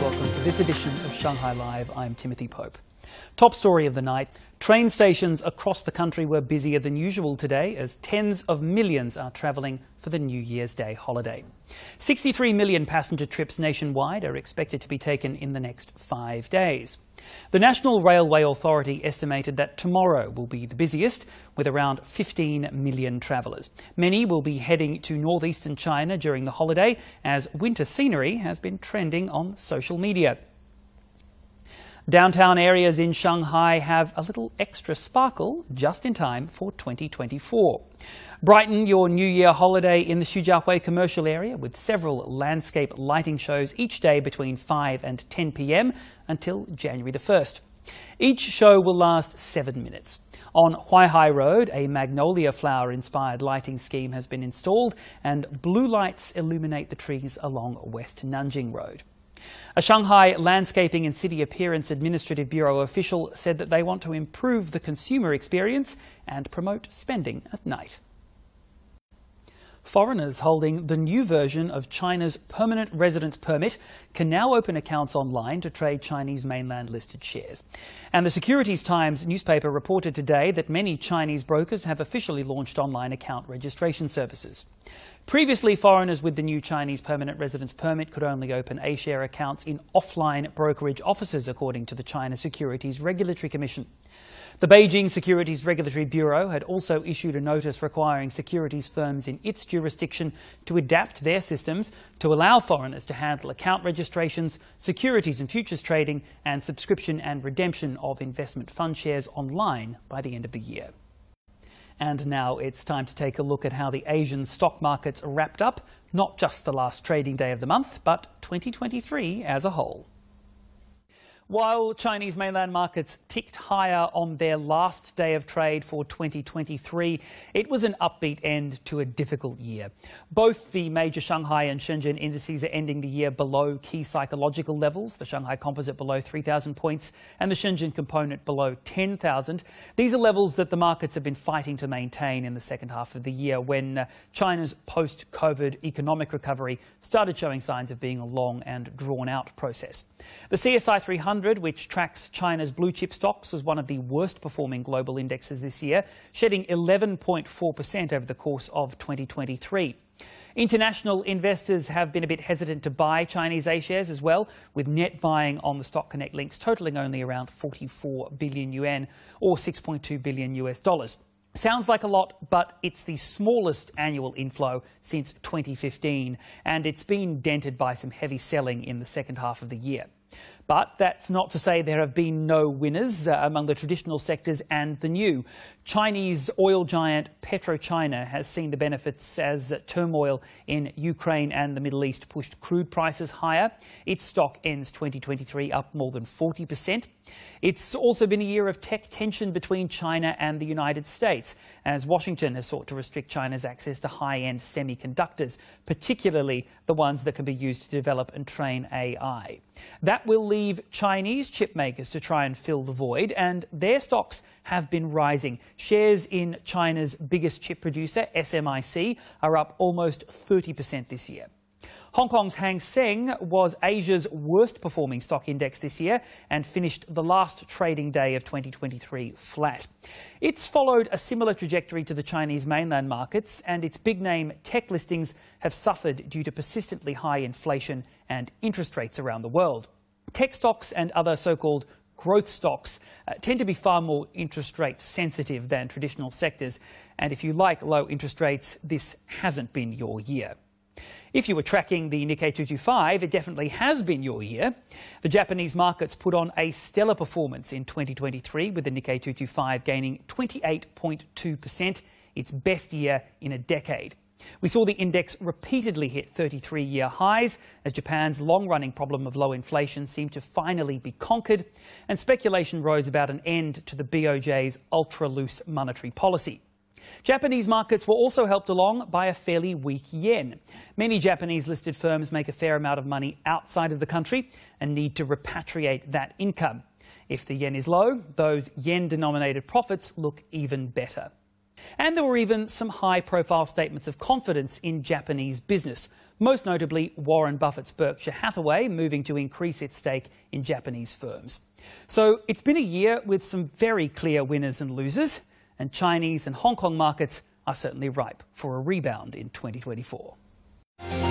welcome to this edition of Shanghai Live. I'm Timothy Pope. Top story of the night, train stations across the country were busier than usual today as tens of millions are travelling for the New Year's Day holiday. 63 million passenger trips nationwide are expected to be taken in the next 5 days. The National Railway Authority estimated that tomorrow will be the busiest, with around 15 million travellers. Many will be heading to northeastern China during the holiday, as winter scenery has been trending on social media. Downtown areas in Shanghai have a little extra sparkle just in time for 2024. Brighten your New Year holiday in the Xujiahui commercial area with several landscape lighting shows each day between 5 and 10 p.m. until January the 1st. Each show will last 7 minutes. On Huaihai Road, a magnolia flower-inspired lighting scheme has been installed and blue lights illuminate the trees along West Nanjing Road. A Shanghai Landscaping and City Appearance Administrative Bureau official said that they want to improve the consumer experience and promote spending at night. Foreigners holding the new version of China's permanent residence permit can now open accounts online to trade Chinese mainland listed shares. And the Securities Times newspaper reported today that many Chinese brokers have officially launched online account registration services. Previously, foreigners with the new Chinese permanent residence permit could only open A-share accounts in offline brokerage offices, according to the China Securities Regulatory Commission. The Beijing Securities Regulatory Bureau had also issued a notice requiring securities firms in its jurisdiction to adapt their systems to allow foreigners to handle account registrations, securities and futures trading, and subscription and redemption of investment fund shares online by the end of the year. And now it's time to take a look at how the Asian stock markets wrapped up, not just the last trading day of the month, but 2023 as a whole. While Chinese mainland markets ticked higher on their last day of trade for 2023, it was an upbeat end to a difficult year. Both the major Shanghai and Shenzhen indices are ending the year below key psychological levels, the Shanghai Composite below 3,000 points and the Shenzhen Component below 10,000. These are levels that the markets have been fighting to maintain in the second half of the year when China's post-COVID economic recovery started showing signs of being a long and drawn-out process. The CSI 300, which tracks China's blue chip stocks, was one of the worst performing global indexes this year, shedding 11.4% over the course of 2023. International investors have been a bit hesitant to buy Chinese A-shares as well, with net buying on the Stock Connect links totalling only around 44 billion yuan or $6.2 billion US. Sounds like a lot, but it's the smallest annual inflow since 2015, and it's been dented by some heavy selling in the second half of the year. But that's not to say there have been no winners among the traditional sectors and the new. Chinese oil giant PetroChina has seen the benefits as turmoil in Ukraine and the Middle East pushed crude prices higher. Its stock ends 2023 up more than 40%. It's also been a year of tech tension between China and the United States, as Washington has sought to restrict China's access to high-end semiconductors, particularly the ones that can be used to develop and train AI. That will leave Chinese chip makers to try and fill the void, and their stocks have been rising. Shares in China's biggest chip producer, SMIC, are up almost 30% this year. Hong Kong's Hang Seng was Asia's worst performing stock index this year and finished the last trading day of 2023 flat. It's followed a similar trajectory to the Chinese mainland markets, and its big name tech listings have suffered due to persistently high inflation and interest rates around the world. Tech stocks and other so-called growth stocks tend to be far more interest rate sensitive than traditional sectors, and if you like low interest rates, this hasn't been your year. If you were tracking the Nikkei 225, it definitely has been your year. The Japanese markets put on a stellar performance in 2023, with the Nikkei 225 gaining 28.2%, its best year in a decade. We saw the index repeatedly hit 33-year highs as Japan's long-running problem of low inflation seemed to finally be conquered, and speculation rose about an end to the BOJ's ultra-loose monetary policy. Japanese markets were also helped along by a fairly weak yen. Many Japanese-listed firms make a fair amount of money outside of the country and need to repatriate that income. If the yen is low, those yen-denominated profits look even better. And there were even some high-profile statements of confidence in Japanese business, most notably Warren Buffett's Berkshire Hathaway moving to increase its stake in Japanese firms. So it's been a year with some very clear winners and losers, and Chinese and Hong Kong markets are certainly ripe for a rebound in 2024.